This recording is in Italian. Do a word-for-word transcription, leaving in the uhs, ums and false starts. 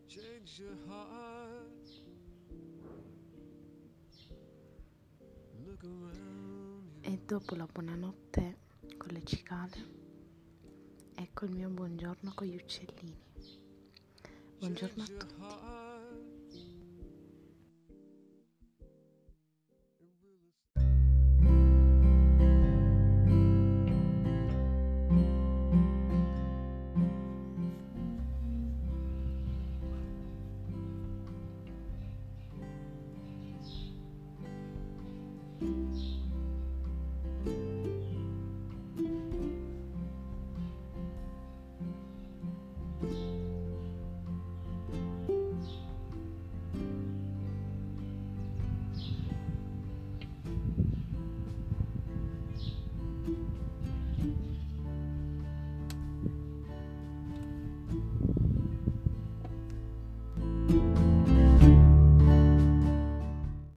E dopo la buonanotte con le cicale, ecco il mio buongiorno con gli uccellini. Buongiorno a tutti.